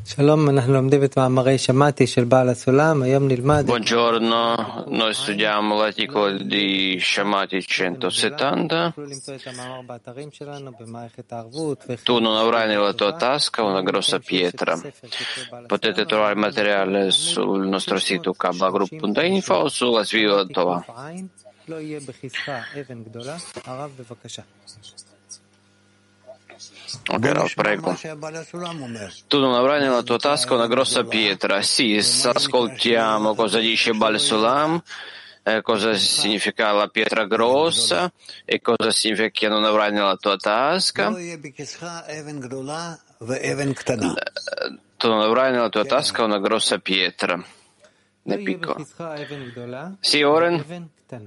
Buongiorno, noi studiamo l'articolo di Shamati 170. Tu non avrai nella tua tasca una grossa pietra. Potete trovare il materiale sul nostro sito kabbalagroup.info o sulla Sviva Tova. Ok, Rav, prego. Tu non avrai nella tua tasca una grossa pietra. Sì, ascoltiamo cosa dice Baal Sulam, cosa significa la pietra grossa e cosa significa che non avrai nella tua tasca. Tu non avrai nella tua tasca una grossa pietra, né piccola. Sì, Oren?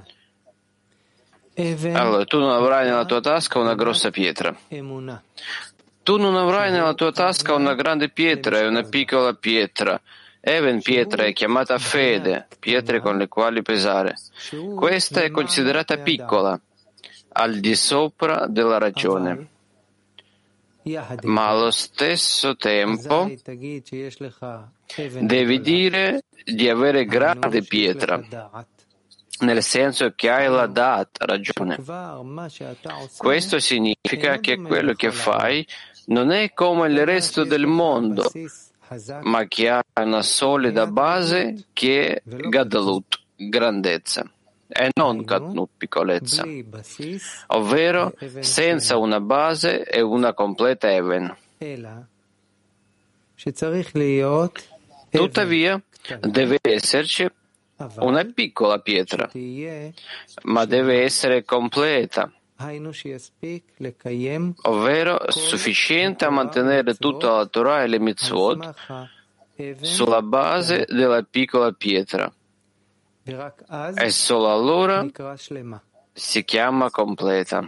Allora, tu non avrai nella tua tasca una grossa pietra. Tu non avrai nella tua tasca una grande pietra e una piccola pietra. Even, pietra, è chiamata fede, pietre con le quali pesare. Questa è considerata piccola, al di sopra della ragione. Ma allo stesso tempo devi dire di avere grande pietra, nel senso che hai la ragione. Questo significa che quello che fai non è come il resto del mondo, ma che ha una solida base che è Gadlut, grandezza, e non Katnut, piccolezza, ovvero senza una base e una completa Even. Tuttavia, deve esserci una piccola pietra, ma deve essere completa, ovvero sufficiente a mantenere tutta la Torah e le mitzvot sulla base della piccola pietra, e solo allora si chiama completa.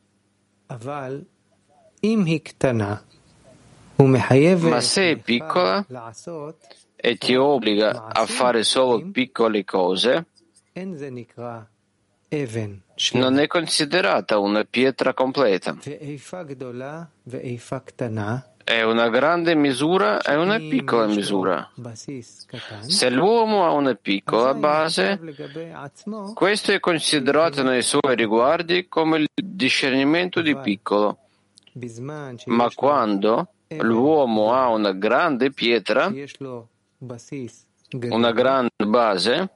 Ma se è piccola e ti obbliga a fare solo piccole cose, non è considerata una pietra completa. È una grande misura e una piccola misura. Se l'uomo ha una piccola base, questo è considerato nei suoi riguardi come il discernimento di piccolo. Ma quando l'uomo ha una grande pietra, una grande base,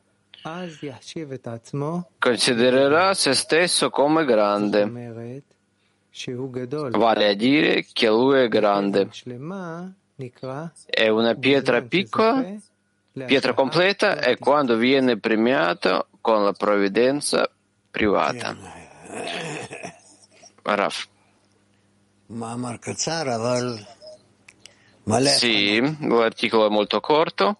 considererà se stesso come grande, vale a dire che lui è grande. È una pietra piccola, pietra completa è quando viene premiato con la provvidenza privata. Raf. Sì, l'articolo è molto corto,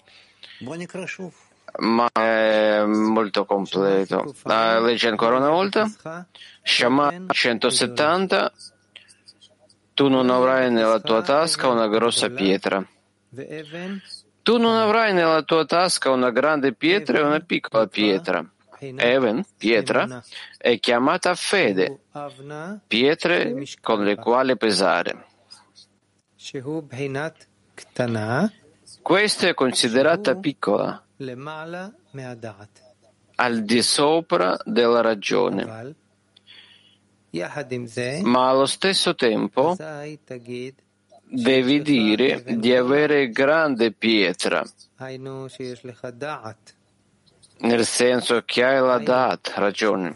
ma è molto completo. Leggi ancora una volta. Shama 170. Tu non avrai nella tua tasca una grossa pietra. Tu non avrai nella tua tasca una grande pietra e una piccola pietra. Even, pietra, è chiamata fede, pietre con le quali pesare. Questa è considerata piccola, al di sopra della ragione. Ma allo stesso tempo devi dire di avere grande pietra, nel senso che hai la ragione.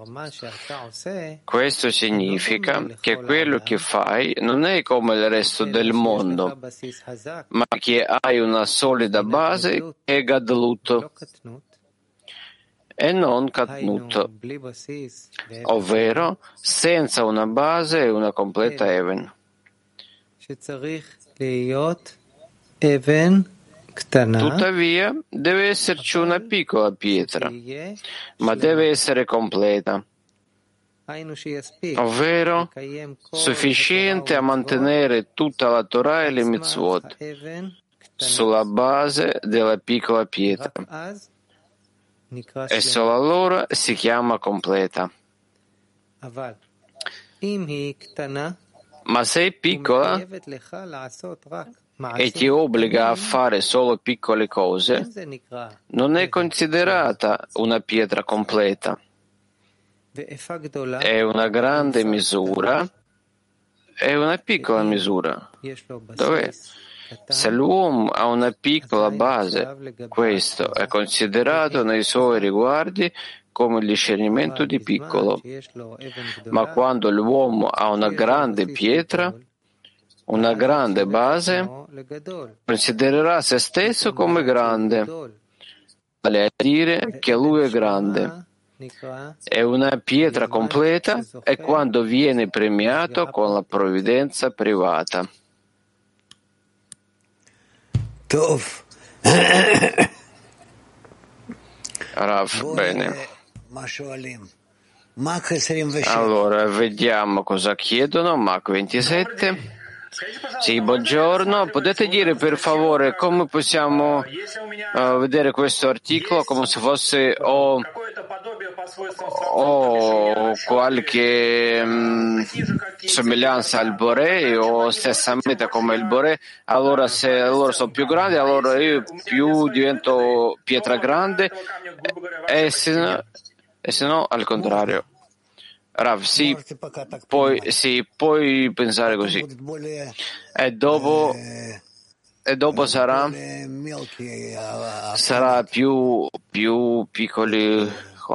Questo significa che quello che fai non è come il resto del mondo, ma che hai una solida base che è Gadlut e non Katnut, ovvero senza una base e una completa Even. Tuttavia, deve esserci una piccola pietra, ma deve essere completa, ovvero sufficiente a mantenere tutta la Torah e le mitzvot sulla base della piccola pietra, e solo allora si chiama completa. Ma se è piccola, e ti obbliga a fare solo piccole cose, non è considerata una pietra completa. È una grande misura e una piccola misura. Dov'è? Se l'uomo ha una piccola base, questo è considerato nei suoi riguardi come il discernimento di piccolo. Ma quando l'uomo ha una grande pietra, una grande base, considererà se stesso come grande, vale a dire che lui è grande. È una pietra completa e quando viene premiato con la provvidenza privata. Rav, bene. Allora, vediamo cosa chiedono. Mach 27. Sì, buongiorno. Potete dire per favore come possiamo vedere questo articolo come se fosse o qualche somiglianza al Boré o stessa meta come il Boré? Allora, se loro sono più grandi, allora io più divento pietra grande e se no al contrario. Rav, sì, puoi pensare così. E dopo sarà più piccoli.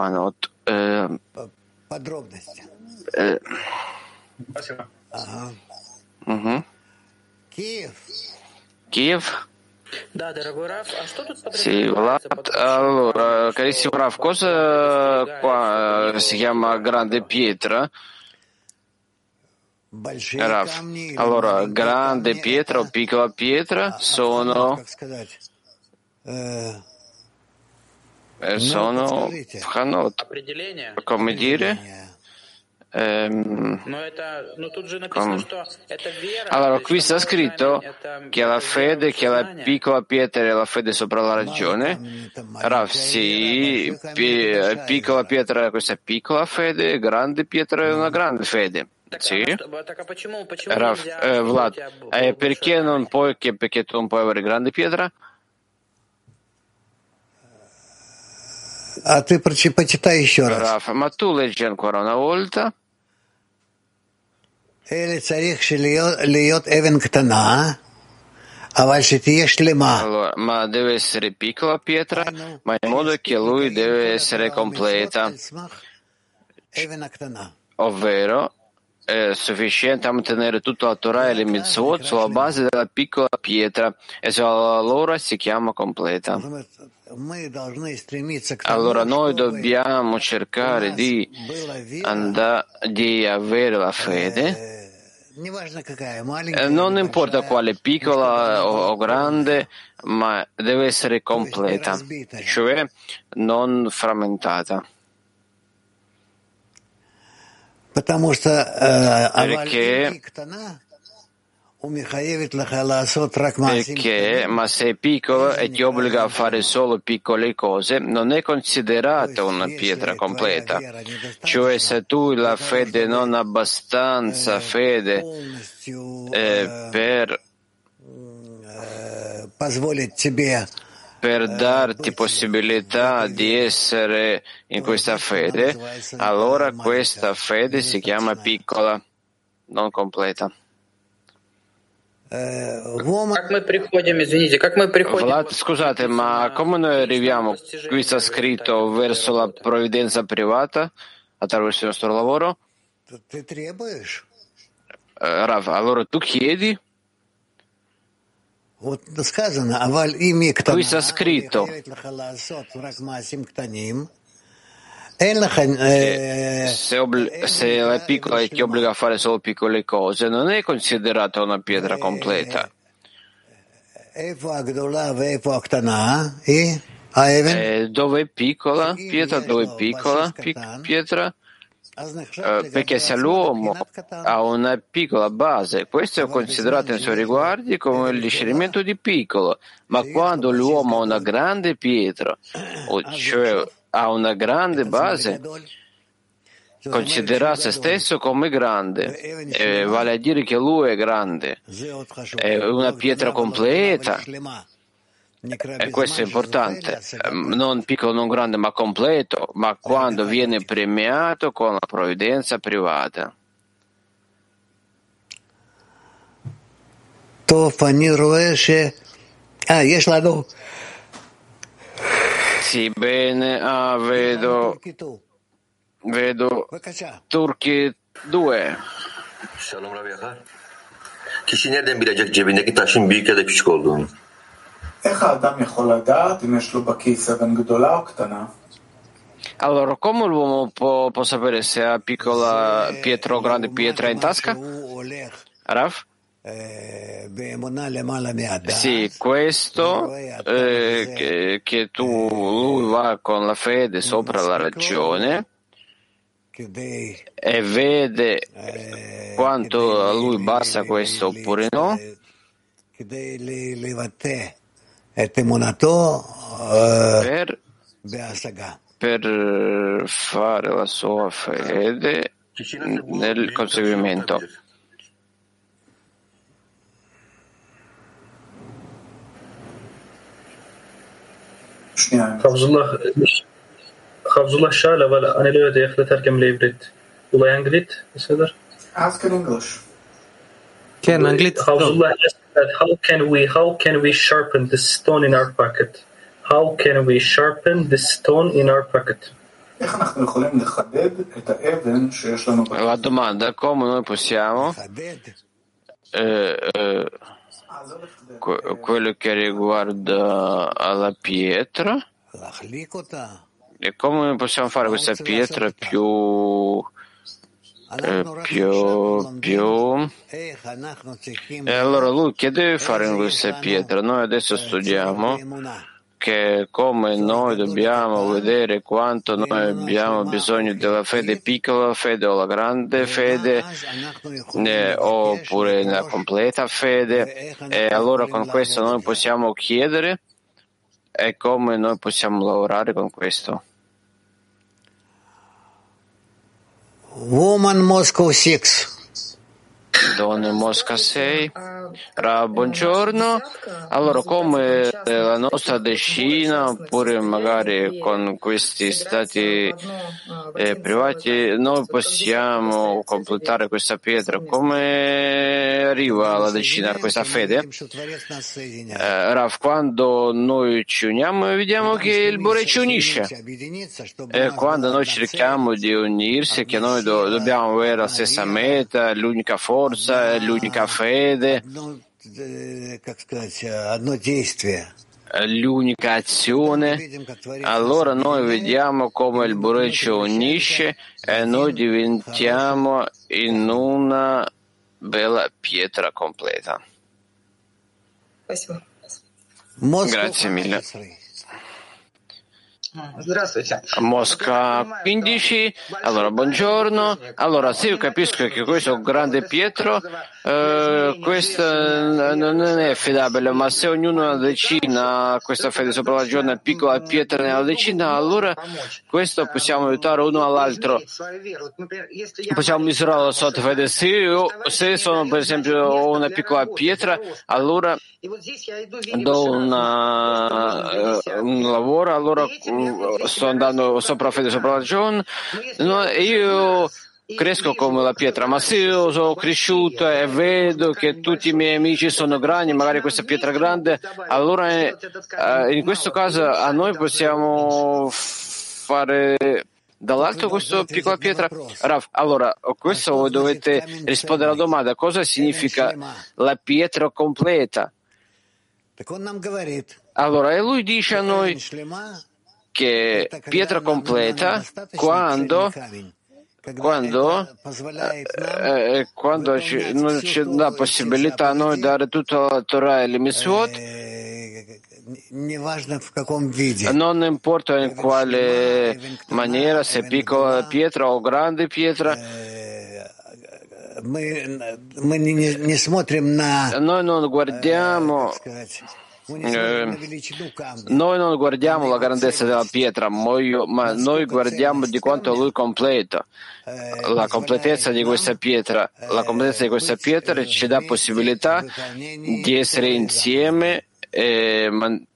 Kiev? Sì, Vlad. Allora, carissimo Rav, cosa qua si chiama grande pietra? Rav, allora, grande pietra o piccola pietra sono Hanot, come dire? Allora, qui sta scritto che la fede, che la piccola pietra è la fede sopra la ragione. Rav, sì, piccola pietra, questa è piccola fede, grande pietra è una grande fede. Sì. Rav, Vlad, perché non puoi, perché tu non puoi avere grande pietra? Rav, ma tu leggi ancora una volta. Allora, ma deve essere piccola pietra, ma in modo che lui deve essere completa, ovvero è sufficiente a mantenere tutta la Torah e le mitzvot sulla base della piccola pietra e solo allora si chiama completa. Allora noi dobbiamo cercare di avere la fede, non importa quale, piccola o grande, ma deve essere completa, cioè non frammentata. Perché, ma se è piccolo e ti obbliga a fare solo piccole cose, non è considerata una pietra completa. Cioè, se tu la fede non ha abbastanza fede per darti possibilità di essere in questa fede, allora questa fede si chiama piccola, non completa. Vlad, scusate, ma come noi arriviamo? Qui sta scritto verso la provvidenza privata attraverso il nostro lavoro? Rav, allora tu chiedi? Qui sta scritto se la piccola ti obbliga a fare solo piccole cose, non è considerata una pietra completa. Dove è piccola pietra? Dove è piccola pietra? Perché se l'uomo ha una piccola base, questo è considerato nei suoi riguardi come il discernimento di piccolo, ma quando l'uomo ha una grande pietra, cioè ha una grande base, considera se stesso come grande, vale a dire che lui è grande, è una pietra completa, e questo è importante, non piccolo, non grande, ma completo, ma quando viene premiato con la provvidenza privata. Sì, bene, vedo Turchi 2. Shalom Rav Yachar. Kişi nereden bilecek cebindeki taşın büyük ya da küçük olduğunu? Allora, come l'uomo può sapere se ha piccola pietra o grande pietra in tasca? Rav? Sì, questo che lui va con la fede sopra la ragione e vede quanto a lui basta questo oppure no, per fare la sua fede nel conseguimento. Havzullah Shal, אבל אני לא יודע איך לתרגם לעברית. אולי אנגלית? בסדר? Ask in English. כן, אנגלית. Havzullah asked that how can we sharpen the stone in our pocket? How can we sharpen the stone in our pocket? איך אנחנו יכולים לחדד את האבן שיש לנו בכיס? La domanda è come noi possiamo quello che riguarda alla pietra e come noi possiamo fare questa pietra più e allora lui che deve fare in questa pietra? Noi adesso studiamo che come noi dobbiamo vedere quanto noi abbiamo bisogno della fede piccola fede o la grande fede oppure la completa fede, e allora con questo noi possiamo chiedere e come noi possiamo lavorare con questo. Woman Moscow 6. Donne Mosca 6. Buongiorno. Allora, come la nostra decina, oppure magari con questi stati privati, noi possiamo completare questa pietra? Come arriva la decina a questa fede? Rav, quando noi ci uniamo vediamo che il Bore ci unisce. E quando noi cerchiamo di unirsi, che noi dobbiamo avere la stessa meta, l'unica forza, l'unica fede, l'unica azione, allora noi vediamo come il Bore ci unisce e noi diventiamo in una bella pietra completa. Grazie mille. Mosca 15. Allora, buongiorno. Allora, sì, io capisco che questo grande Pietro, questa non è affidabile, ma se ognuno nella decina ha questa fede sopra la giornata, piccola pietra nella decina, allora questo possiamo aiutare uno all'altro. Possiamo misurare la sua fede. Se sono, per esempio, ho una piccola pietra, allora do un lavoro, allora sto andando sopra fede, sopra ragione, io cresco come la pietra, ma se io sono cresciuto e vedo che tutti i miei amici sono grandi, magari questa pietra grande, allora in questo caso a noi possiamo fare dall'alto questa piccola pietra. Rav, allora questo voi dovete rispondere alla domanda: cosa significa la pietra completa? Allora, e lui dice a noi che pietra completa quando non c'è la possibilità a noi dare tutta la Torah e le Mitzvot, non importa in quale maniera, se piccola pietra o grande pietra, noi non guardiamo Noi non guardiamo la grandezza della pietra, ma noi guardiamo di quanto lui completa. La completezza di questa pietra ci dà possibilità di essere insieme e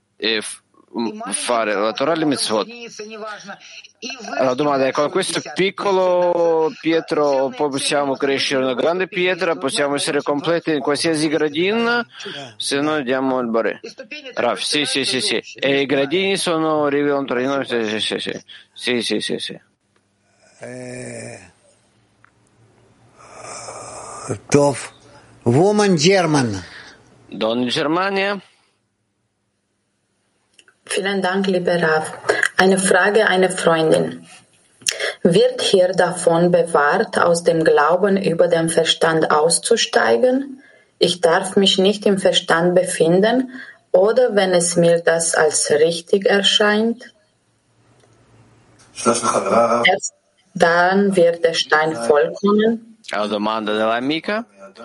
fare la Torah e le mitzvot. La domanda è: con questo piccolo pietro poi possiamo crescere una grande pietra, possiamo essere completi in qualsiasi gradina se noi diamo il barè. Rav, sì. E i gradini rivelano tra di noi. Sì. Woman German. Donna Germania. Vielen Dank, lieber Rav. Eine Frage einer Freundin. Wird hier davon bewahrt, aus dem Glauben über den Verstand auszusteigen? Ich darf mich nicht im Verstand befinden, oder wenn es mir das als richtig erscheint? Erst dann wird der Stein vollkommen. La domanda dell'amica: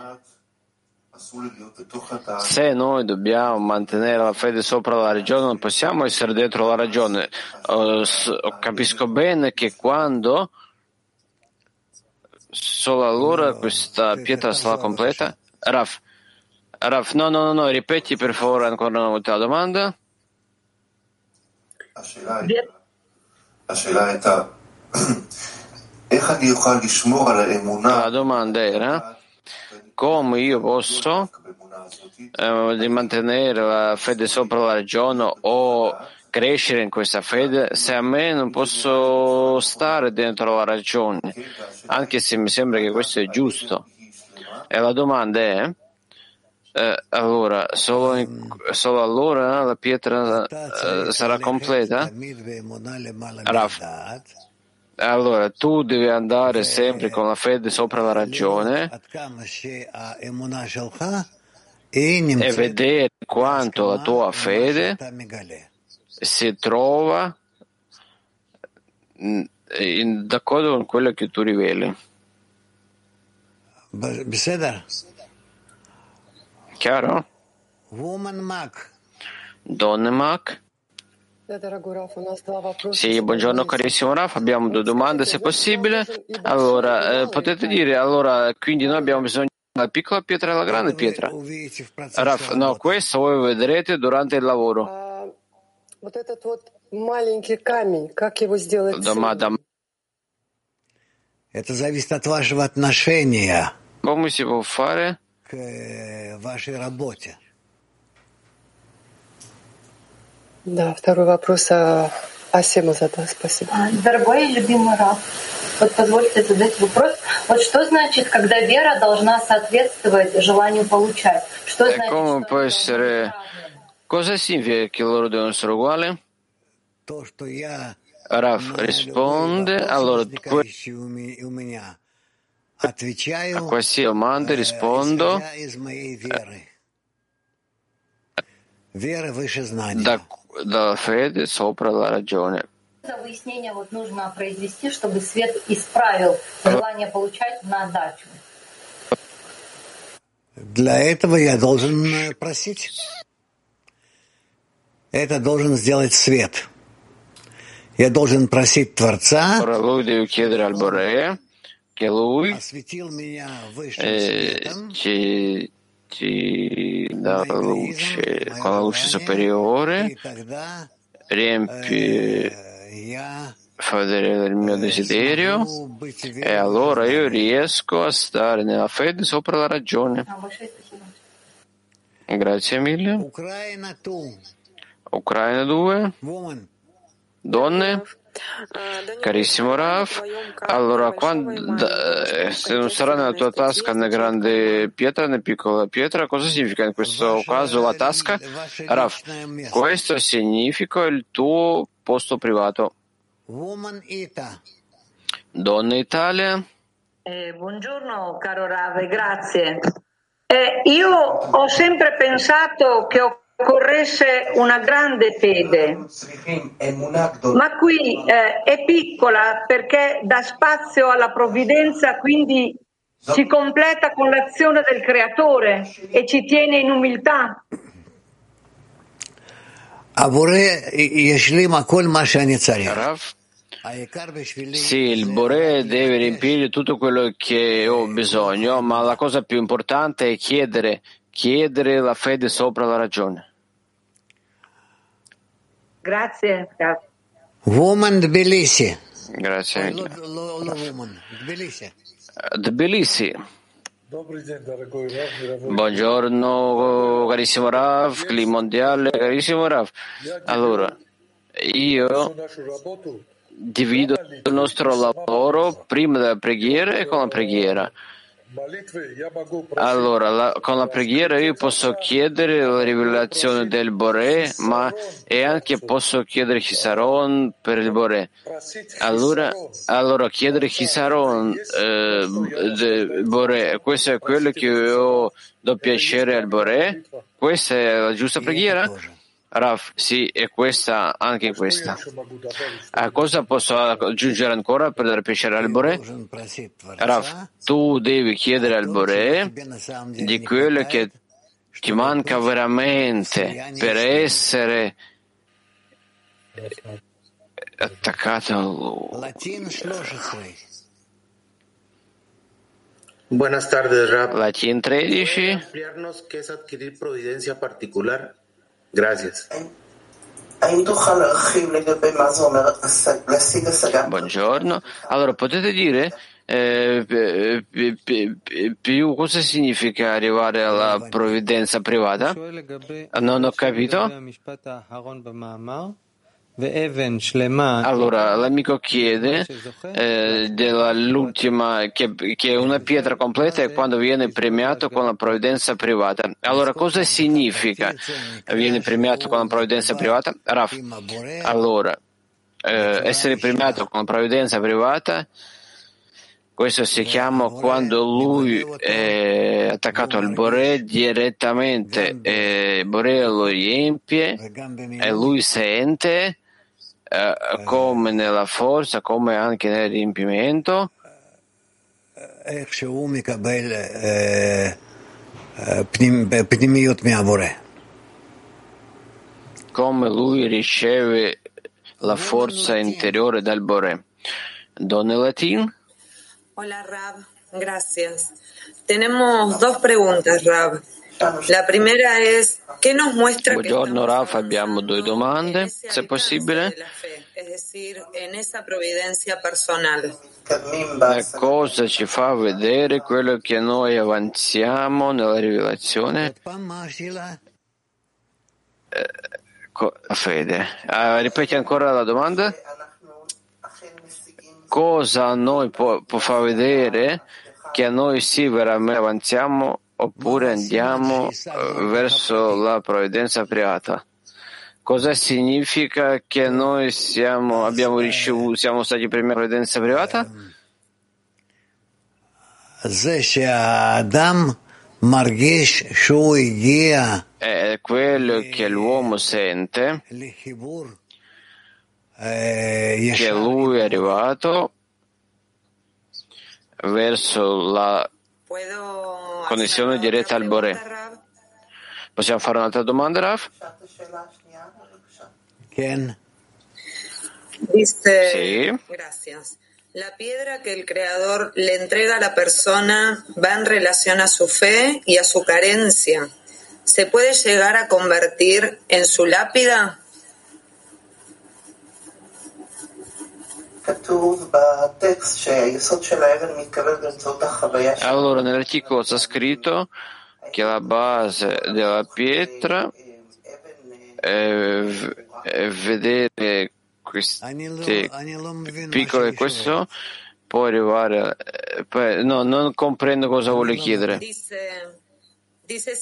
se noi dobbiamo mantenere la fede sopra la ragione, non possiamo essere dentro la ragione. Capisco bene che quando solo allora questa pietra sarà completa. Rav, no, ripeti per favore ancora una volta la domanda. La domanda era: come io posso di mantenere la fede sopra la ragione o crescere in questa fede se a me non posso stare dentro la ragione, anche se mi sembra che questo è giusto. E la domanda è: allora solo allora la pietra sarà completa? Rav, allora tu devi andare sempre con la fede sopra la ragione e vedere quanto la tua fede si trova d'accordo con quello che tu riveli. Chiaro? Donne Mac. Sì, buongiorno carissimo Raf, abbiamo due domande se possibile. Allora, potete dire, quindi noi abbiamo bisogno della piccola pietra e della grande pietra? Raf, no, questo voi vedrete durante il lavoro. Domanda. Come si può fare? Да, второй вопрос Асема задаст. Спасибо. Дорогой и любимый Рав, вот позвольте задать вопрос. Вот что значит, когда вера должна соответствовать желанию получать? Что значит, come può essere? Cosa significa che loro devono essere uguali? Rav risponde: allora a queste domande rispondo dalla fede sopra la ragione. За выяснение вот нужно произвести, чтобы свет исправил желание получать на отдачу. Для этого я должен просить. Это должен сделать свет. Я должен просить Творца. Ora lui deve chiedere al Boré che lui ci dà la luce con la luce superiore, riempie, fa vedere il mio desiderio e allora io riesco a stare nella fede sopra la ragione. Grazie mille. Ucraina 2. Donne. Carissimo Rav, allora se non sarà nella tua tasca né grande pietra né piccola pietra, cosa significa in questo caso la tasca? Rav, questo significa il tuo posto privato. Donna Italia. Buongiorno caro Rav, grazie. Io ho sempre pensato che occorresse una grande fede, ma qui è piccola perché dà spazio alla provvidenza, quindi si completa con l'azione del Creatore e ci tiene in umiltà. Rav, sì, il Boré deve riempire tutto quello che ho bisogno, ma la cosa più importante è chiedere la fede sopra la ragione. Grazie. Woman Tbilisi. Grazie. Tbilisi. Buongiorno carissimo Rav, Cli mondiale, carissimo Rav. Allora, io divido il nostro lavoro prima della preghiera e con la preghiera. Allora, con la preghiera io posso chiedere la rivelazione del Boré, ma e anche posso chiedere Chisaron per il Boré. Allora chiedere Chisaron del Boré, questo è quello che io do piacere al Boré? Questa è la giusta preghiera? Rav, sì, e questa, anche questa. A cosa posso aggiungere ancora per dare piacere al Boré? Rav, tu devi chiedere al Boré di quello che ti manca veramente per essere attaccato a lui. Buenas tardes, Rav. Latin 13. Ampliarnos qué es adquirir providencia particular. Gracias. Buongiorno. Allora, potete dire più cosa significa arrivare alla provvidenza privata? Non ho capito. Allora, l'amico chiede dell'ultima, che è una pietra completa e quando viene premiato con la provvidenza privata. Allora, cosa significa viene premiato con la provvidenza privata? Raf, allora, essere premiato con la provvidenza privata, questo si chiama quando lui è attaccato al Boré direttamente, Boré lo riempie e lui sente come nella forza, come anche nel riempimento, come lui riceve la forza interiore dal Boré. Don Latin. Hola Rav, gracias. Tenemos dos preguntas, Rav. La primera es, ¿qué nos muestra Buongiorno Rav, abbiamo due domande, se possibile. Cosa ci fa vedere quello che noi avanziamo nella rivelazione? La fede. Ripeti ancora la domanda? Cosa a noi può far vedere che a noi sì veramente avanziamo oppure andiamo verso la provvidenza privata? Cosa significa che noi siamo stati primi alla provvidenza privata? È quello che l'uomo sente, che lui è arrivato verso la connessione diretta al Boré. Possiamo fare un'altra domanda, Rav? Dice, sì. Gracias. La piedra que el Creador le entrega a la persona va en relación a su fe y a su carencia. ¿Se puede llegar a convertir en su lápida? Allora, nell'articolo sta scritto che la base della pietra è vedere queste piccole questo può arrivare non comprendo cosa vuole chiedere. Dice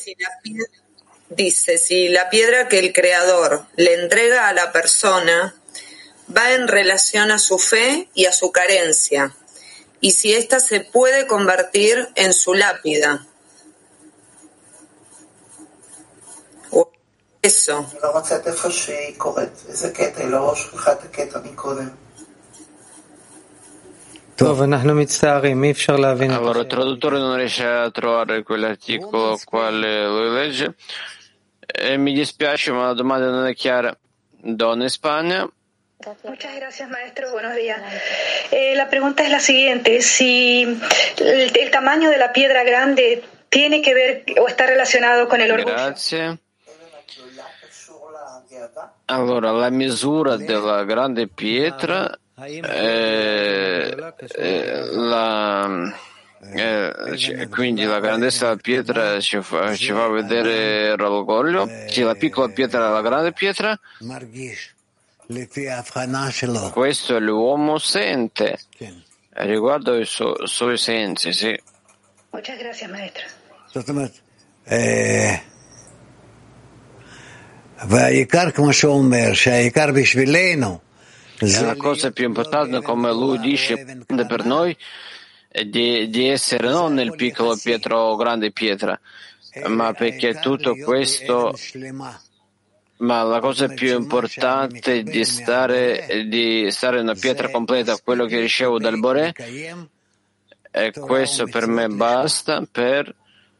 si la piedra que el Creador le entrega a la persona va en relación a su fe y a su carencia, y si ésta se puede convertir en su lápida. Eso. Allora, il traduttore non riesce a trovare quell'articolo quale lo legge. Mi dispiace, ma la domanda non è chiara. Donna Spagna. Muchas gracias, maestro. Buenos días. La pregunta es la siguiente: si el tamaño de la piedra grande tiene que ver o está relacionado con el orgullo. Grazie. Allora, la misura della grande pietra, quindi la grandezza della pietra ci fa vedere l'orgoglio. Sì, la piccola pietra è la grande pietra. Questo l'uomo sente riguardo ai suoi sensi, sì. Muchas gracias, maestro. La cosa più importante, come lui dice per noi, è di essere non nel piccolo pietra o grande pietra, ma perché tutto questo. Ma la cosa più importante è di stare una pietra completa, quello che ricevo dal Boré, e questo per me basta per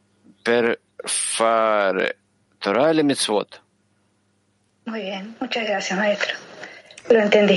fare Torah e le mitzvot. Muy bien, muchas gracias, maestro. Lo entendí.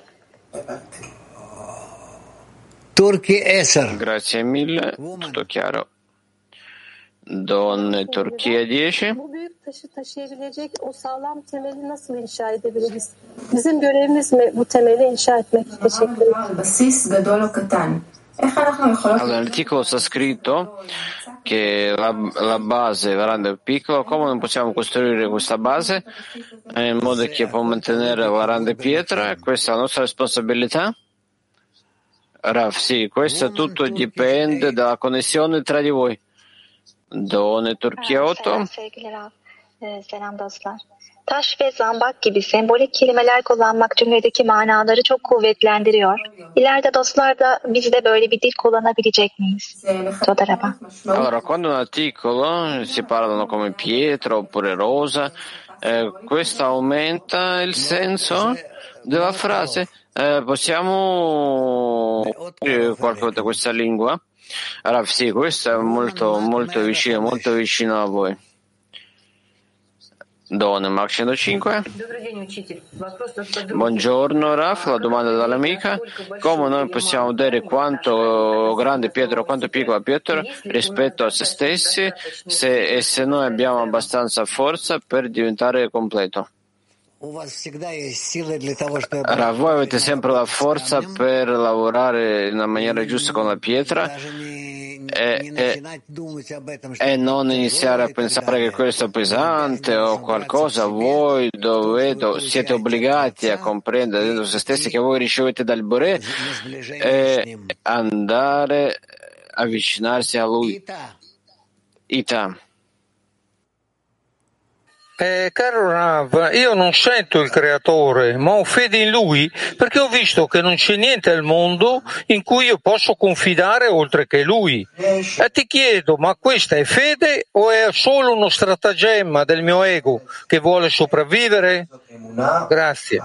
Grazie mille, tutto chiaro. Donne Turchia 10. Bu büyük taşı taşıyabilecek o sağlam temeli nasıl inşa edebiliriz? Bizim görevimiz mi bu temeli inşa etmek? Teşekkür ederim. Allora, nell'articolo sta scritto che la base è grande o piccola. Come non possiamo costruire questa base in modo che può mantenere la grande pietra? Questa è la nostra responsabilità? Rav, sì, questo tutto dipende dalla connessione tra di voi. Donne Turchia 8. Sevgili Rav, selam dostlar. Taş ve zambak gibi sembolik kelimeler kullanmak cümledeki manaları çok kuvvetlendiriyor. İleride dostlar da biz de böyle bir dil kullanabilecek miyiz? Todaraba. Allora, quando un articolo si parlano come pietra oppure rosa, questo aumenta il senso della frase. Possiamo qualcosa di questa lingua? Allora, sì, questo è molto vicino a voi. Donne, Mark 105. Buongiorno Raf, la domanda dall'amica: come noi possiamo vedere quanto grande pietra o quanto piccola pietra rispetto a se stessi se noi abbiamo abbastanza forza per diventare completo? Allora, voi avete sempre la forza per lavorare in una maniera giusta con la pietra e non iniziare a pensare che questo è pesante o qualcosa. Voi siete obbligati a comprendere dentro se stessi che voi ricevete dal Boré e andare a avvicinarsi a Lui. Ita. Caro Rav, io non sento il Creatore, ma ho fede in Lui perché ho visto che non c'è niente al mondo in cui io posso confidare oltre che Lui. E ti chiedo, ma questa è fede o è solo uno stratagemma del mio ego che vuole sopravvivere? Grazie.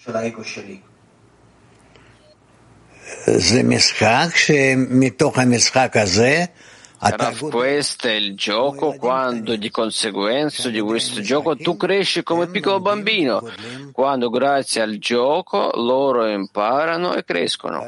Questo è il gioco, quando di conseguenza di questo gioco tu cresci come piccolo bambino, quando grazie al gioco loro imparano e crescono.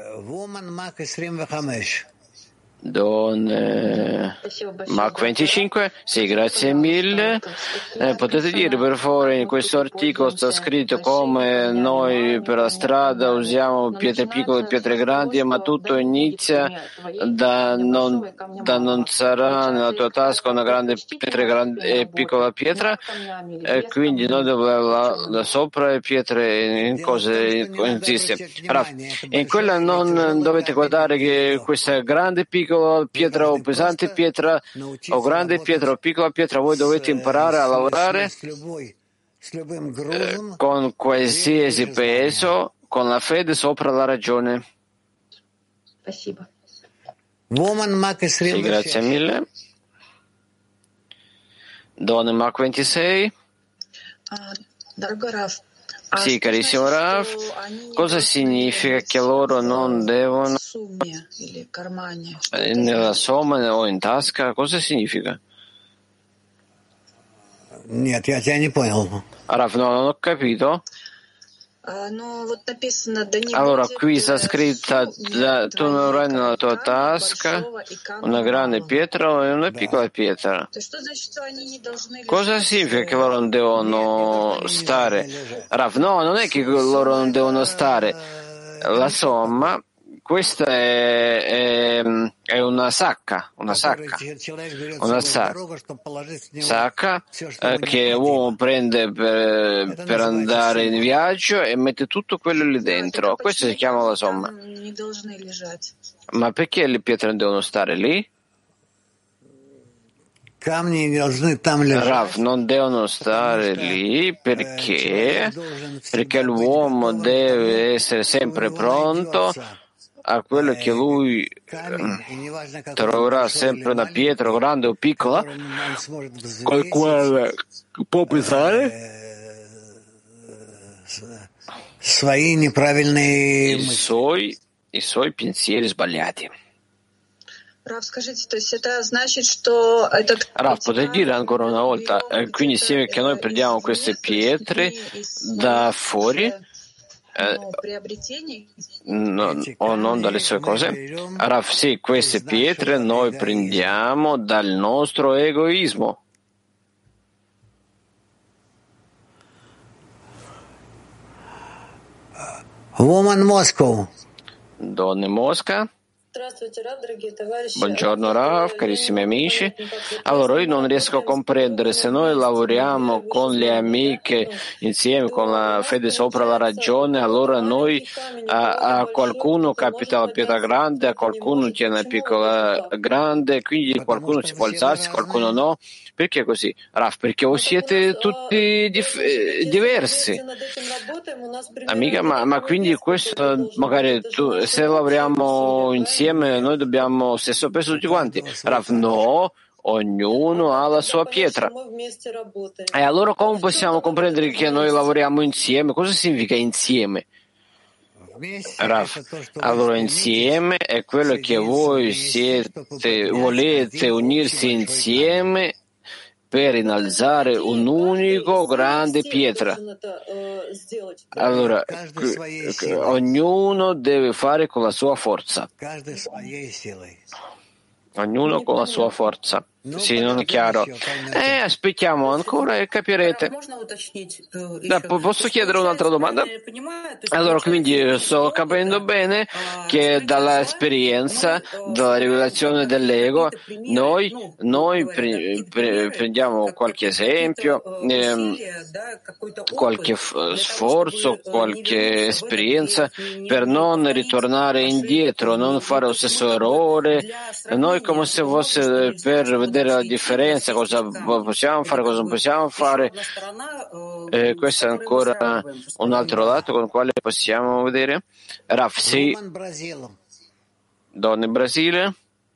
Don Mark 25, sì, grazie mille. Potete dire per favore, in questo articolo sta scritto come noi per la strada usiamo pietre piccole e pietre grandi, ma tutto inizia da non sarà nella tua tasca una grande pietra e piccola pietra, e quindi noi dobbiamo sopra le pietre in cose insiste. Allora, in quella non dovete guardare che questa grande piccola pietra o pesante pietra o grande pietra o piccola pietra, voi dovete imparare a lavorare con qualsiasi peso, con la fede sopra la ragione. Sì, grazie mille. Donne Mark 26. Sì, carissimo Rav, cosa significa che loro non devono nella somma o in tasca? Cosa significa? Rav, no, non ho capito. Allora, qui sta scritta, tu non avrai nella tua tasca una grande pietra e una piccola pietra. Cosa significa che loro non devono stare? Rav, no, non è che loro non devono stare. La somma, questa è una sacca che l'uomo prende per andare in viaggio e mette tutto quello lì dentro. Questo si chiama la somma. Ma perché le pietre devono stare lì? Rav, non devono stare lì perché l'uomo deve essere sempre pronto a quello che lui troverà, sempre una pietra grande o piccola, col quale può pensare i suoi pensieri sbagliati. Rav, potete dire ancora una volta, quindi insieme che noi prendiamo queste pietre da fuori, o non dalle sue cose? Rav, sì, queste pietre noi prendiamo dal nostro egoismo. Woman Moscow. Donne Mosca. Buongiorno Rav, carissimi amici. Allora, io non riesco a comprendere se noi lavoriamo con le amiche insieme, con la fede sopra la ragione, allora noi a qualcuno capita la pietra grande, a qualcuno tiene la piccola grande, quindi qualcuno si può alzarsi, qualcuno no. Perché così? Rav, perché voi siete tutti diversi. Amica, ma quindi questo magari se lavoriamo insieme noi dobbiamo stesso peso tutti quanti. Rav, no, ognuno ha la sua pietra. E allora come possiamo comprendere che noi lavoriamo insieme? Cosa significa insieme? Rav, allora insieme è quello che voi volete unirsi insieme per innalzare un unico grande pietra. Allora, ognuno deve fare con la sua forza. Ognuno con la sua forza. Sì, non è chiaro. Aspettiamo ancora e capirete. Posso chiedere un'altra domanda? Allora, quindi sto capendo bene che dalla esperienza, dalla rivelazione dell'ego, noi prendiamo qualche esempio, qualche sforzo, qualche esperienza per non ritornare indietro, non fare lo stesso errore. Noi come se fosse per vedere la differenza, cosa possiamo fare, cosa non possiamo fare. Questo è ancora un altro lato con il quale possiamo vedere. Rav, sì. Donne Brasile.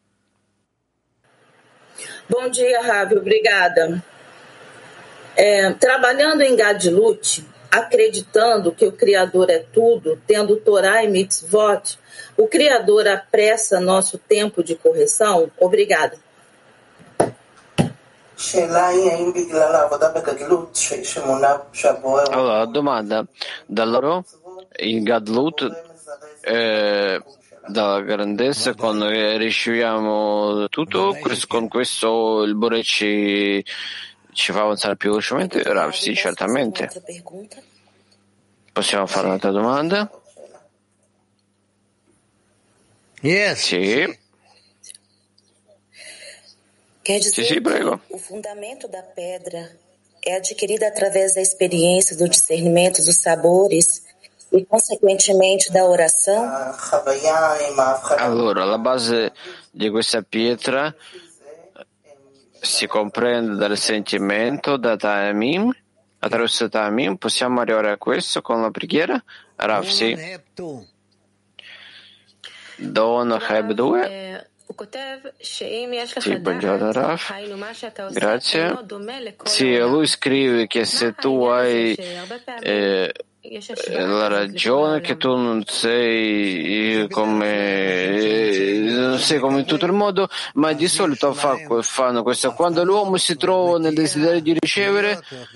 Bom dia, Rav, obrigada. Trabalhando em Gadlut, acreditando que o Criador é tudo, tendo Torá e Mitzvot, o Criador apressa nosso tempo de correção? Obrigada. Allora, domanda, da loro in Gadlut, dalla grandezza, quando riusciamo tutto, con questo il Bore ci fa avanzare più velocemente? Sì, certamente. Possiamo fare un'altra domanda? Yes. Sì. Quer dizer Sì, prego. que o fundamento da pedra é adquirido através da experiência, do discernimento dos sabores e, consequentemente, da oração? Allora, la base di questa pietra si comprende dal sentimento, da Ta'amim. Attraverso Ta'amim possiamo arrivare a questo con la preghiera? Rav, sì. Donna Heb 2. Sì, buongiorno Rav. Grazie. Sì, lui scrive che se tu hai la ragione che tu non sei come in tutto il mondo, ma di solito fanno questo quando l'uomo si trova nel desiderio di ricevere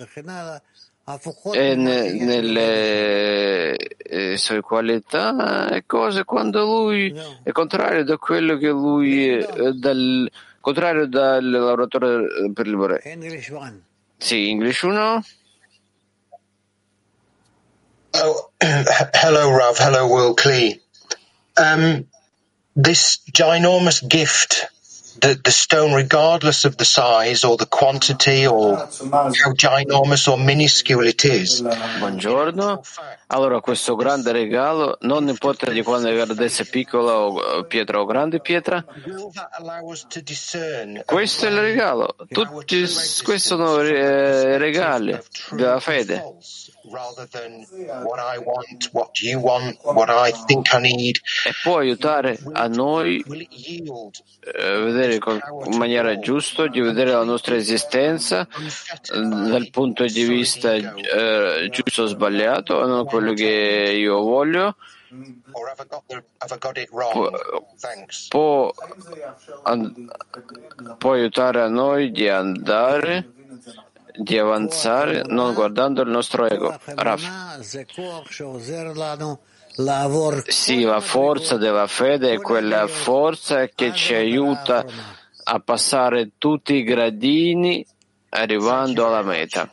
e nelle sue qualità e cose, quando lui è contrario da quello che lui è, contrario dal lavoratore per il Bore. Sì, English 1. Oh, hello, Rav. Hello, Will Klee. This ginormous gift, the stone, regardless of the size or the quantity or how ginormous or minuscule it is. Buongiorno. Allora, questo grande regalo, non importa di quando è grandezza piccola o pietra o grande pietra, questo è il regalo. Tutti questi sono regali della fede. E può aiutare a noi a vedere in maniera giusta, di vedere la nostra esistenza dal punto di vista giusto o sbagliato, non quello che io voglio. Può aiutare a noi di andare, di avanzare non guardando il nostro ego. Sì, la forza della fede è quella forza che ci aiuta a passare tutti i gradini arrivando alla meta.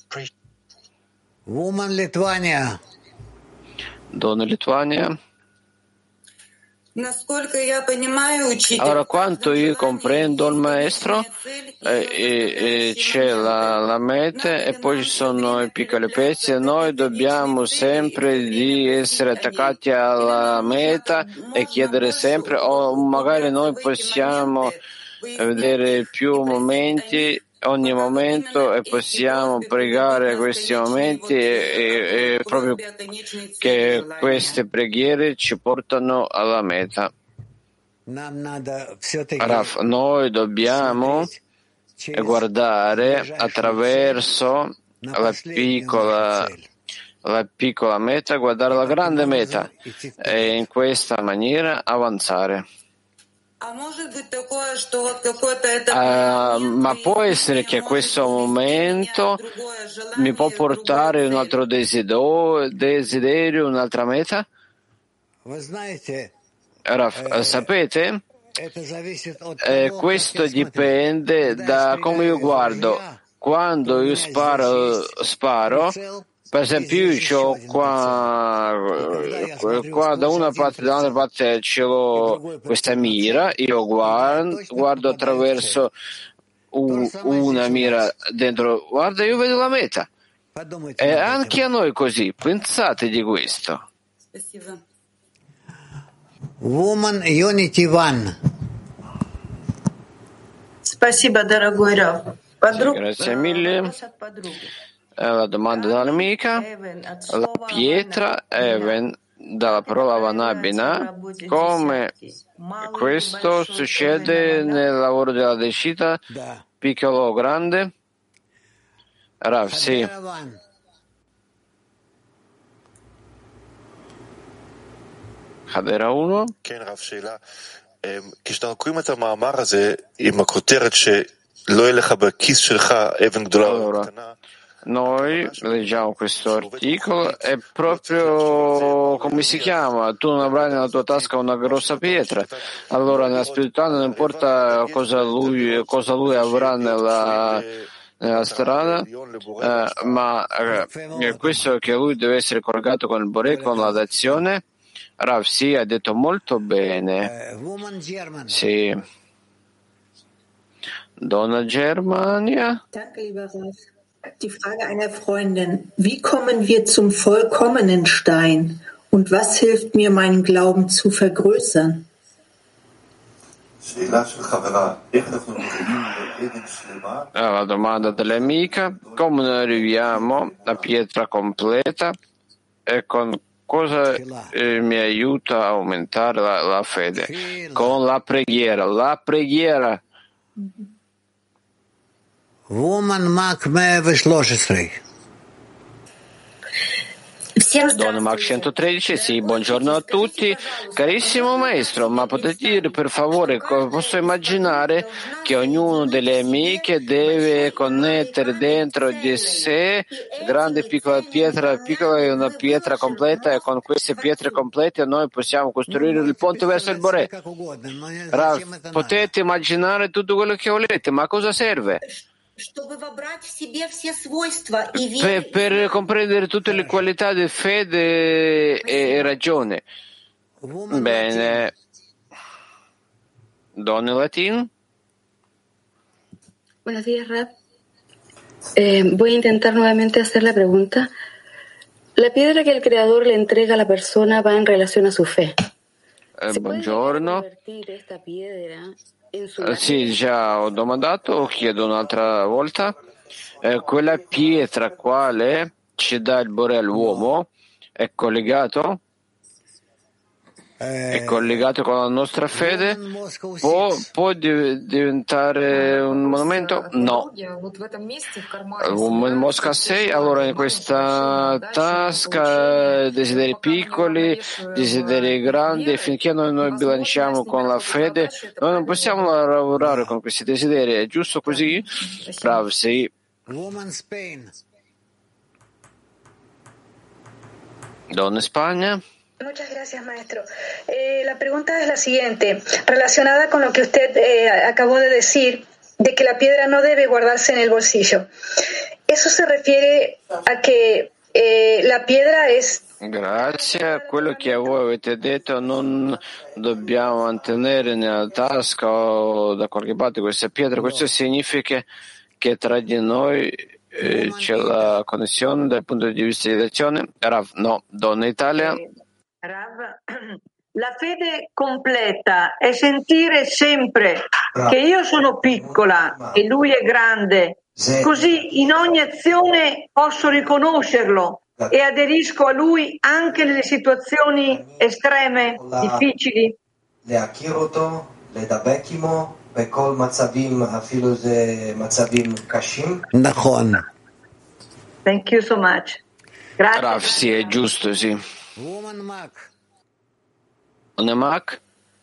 Donna Lituania. Allora, quanto io comprendo il maestro, c'è la meta e poi ci sono i piccoli pezzi e noi dobbiamo sempre di essere attaccati alla meta e chiedere sempre, o magari noi possiamo vedere più momenti, ogni momento, e possiamo pregare questi momenti e proprio che queste preghiere ci portano alla meta. Noi dobbiamo guardare attraverso la piccola meta, guardare la grande meta e in questa maniera avanzare. Ma può essere che questo momento mi può portare un altro desiderio, un'altra meta? Sapete? Questo dipende da come io guardo. Quando io sparo, per esempio io ho qua da una parte e dall'altra parte ce l'ho questa mira, io guardo attraverso una mira dentro, guarda, io vedo la meta. E anche a noi così, pensate di questo. Woman Unity One. Спасибо, дорогой Рав. Grazie mille. La domanda dall'amica. La pietra Even dalla parola Vanabina, come questo succede nel lavoro della decita, piccolo o grande? Rav, sì. Hadera 1. כשאנחנו קוראים את המאמר הזה עם הכותרת שלא יהיה לך בכיס שלך אבן גדולה או קטנה. Noi leggiamo questo articolo e proprio come si chiama? Tu non avrai nella tua tasca una grossa pietra. Allora nella spiritualità non importa cosa lui avrà nella strada, ma questo che lui deve essere collegato con il Boré, con la dazione. Rav, sì, ha detto molto bene. Sì. Donna Germania. Danke, lieber Rav. Die Frage einer Freundin. Wie kommen wir zum vollkommenen Stein? Und was hilft mir, meinen Glauben zu vergrößern? La domanda dell'amica. Come noi arriviamo a pietra completa e con cosa mi aiuta a aumentare la fede? Con la preghiera. La preghiera. Don Mark 113, sì, buongiorno a tutti. Carissimo maestro, ma potete dire per favore, posso immaginare che ognuno delle amiche deve connettere dentro di sé grande e piccola è una pietra completa e con queste pietre complete noi possiamo costruire il ponte verso il Boré. Potete immaginare tutto quello che volete, ma a cosa serve? Per comprendere tutte le qualità di fede e ragione. Bene. Donna Latin. Buenos días, Rab. Voy a intentar nuevamente hacer la pregunta. La piedra que el Creador le entrega a la persona va en relación a su fe. Buongiorno. Sì, già ho domandato, chiedo un'altra volta. Quella pietra quale ci dà il Boré all'uomo è collegato? È collegato con la nostra fede? Può diventare un monumento? No. Mosca 6, allora in questa tasca desideri piccoli, desideri grandi, finché noi bilanciamo con la fede, noi non possiamo lavorare con questi desideri, è giusto così? Bravo, sì. Donna Spagna. Muchas gracias, maestro. La pregunta es la siguiente, relacionada con lo que usted acabó de decir, de que la piedra no debe guardarse en el bolsillo. ¿Eso se refiere a que la piedra es... Grazie a quello che voi avete detto, non dobbiamo mantenere nella tasca o da qualche parte questa pietra. Questo significa che tra di noi c'è la connessione dal punto di vista di lezione? Rav, no. Donna Italia. Rav, la fede completa è sentire sempre che io sono piccola e lui è grande, così in ogni azione posso riconoscerlo e aderisco a lui anche nelle situazioni estreme, difficili. Thank you so much. Grazie. Rav, sì, è giusto, sì. Mac?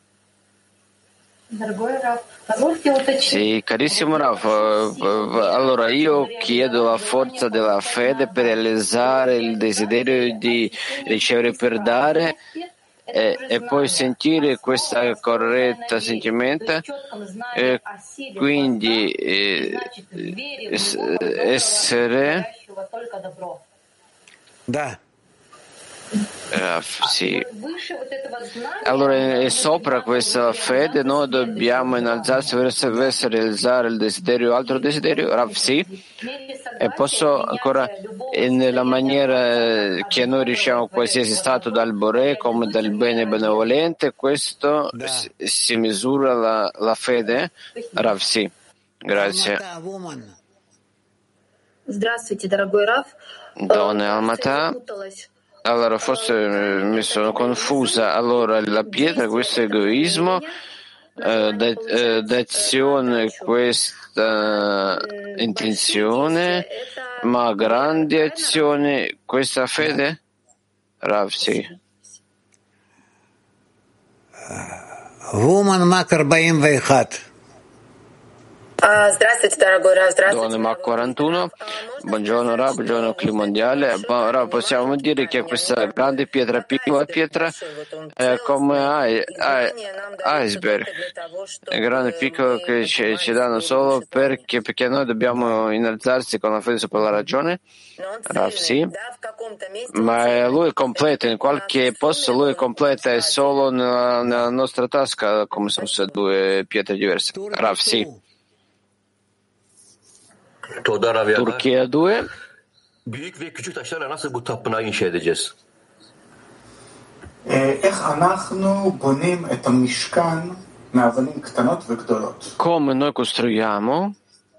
Sì, carissimo Rav, allora io chiedo la forza della fede per realizzare il desiderio di ricevere per dare e poi sentire questa corretta sentimento, quindi essere... Da. Sì. Allora, sopra questa fede noi dobbiamo innalzarsi verso realizzare il desiderio, altro desiderio. Rav, sì. E posso ancora, nella maniera che noi riusciamo qualsiasi stato dal Boré come dal bene benevolente, questo si misura la fede. Rav, sì. Grazie. Здравствуйте, дорогой Рав. Donna Almatà. Allora, forse mi sono confusa. Allora, la pietra, questo egoismo, d'azione, questa intenzione, ma grandi azioni, questa fede? Rav, sì. Woman Makar 41. Здравствуйте, дорогой Рав. Donna Mac 41, buongiorno Rav, buongiorno Clima Mondiale. Rav, possiamo dire che questa grande pietra, piccola pietra, è come iceberg, è grande e piccolo che ci danno solo perché noi dobbiamo innalzarsi con la fede sopra la ragione? Rav, sì. Ma lui è completo, in qualche posto lui è completo, è solo nella nostra tasca, come se fossero due pietre diverse. Rav, sì. Turchia 2. Büyük ve küçük taşlarla nasıl bu tapınağı inşa edeceğiz? Come noi costruiamo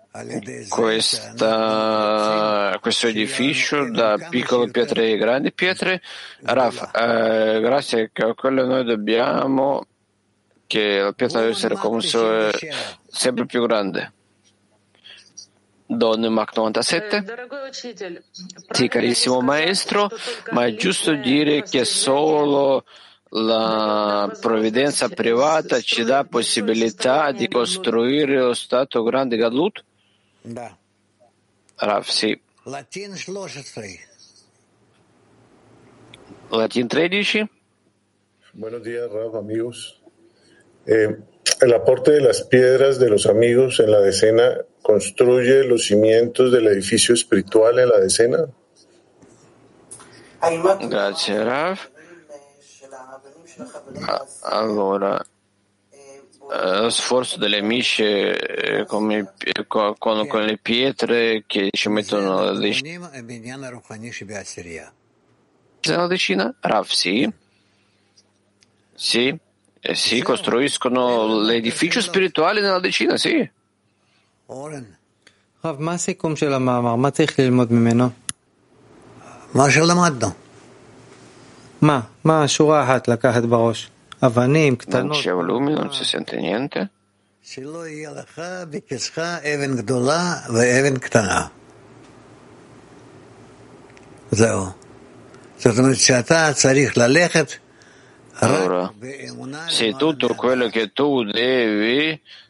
questo edificio da piccole pietre e grandi pietre? Rav, grazie a quello noi dobbiamo che la pietra deve essere come sempre più grande. Donne Mach 97. Sì, carissimo maestro, ma è giusto dire che solo la provvidenza privata ci dà possibilità di costruire lo stato grande Gadlut? Rav, sì. Latin 13. Buenos días, Rav, amigos. El aporte de las piedras de los amigos en la decena construye los cimientos del edificio espiritual en la decena. Grazie, Rav. Allora, lo sforzo delle amiche con le pietre che ci mettono la decina? Rav, sì. Sì. Sì, costruiscono l'edificio spirituale nella decina, sì. Rav, מה הסיכום של המאמר? מה צריך ללמוד ממנו? מה שלמדנו. מה השורה אחת לקחת בראש? אבנים, קטנות. Non c'è volume, non si sente niente. שלא יהיה לך בכיסך אבן גדולה ואבן קטנה. זהו. זאת אומרת שאתה צריך ללכת. Allora, se tutto quello che tu devi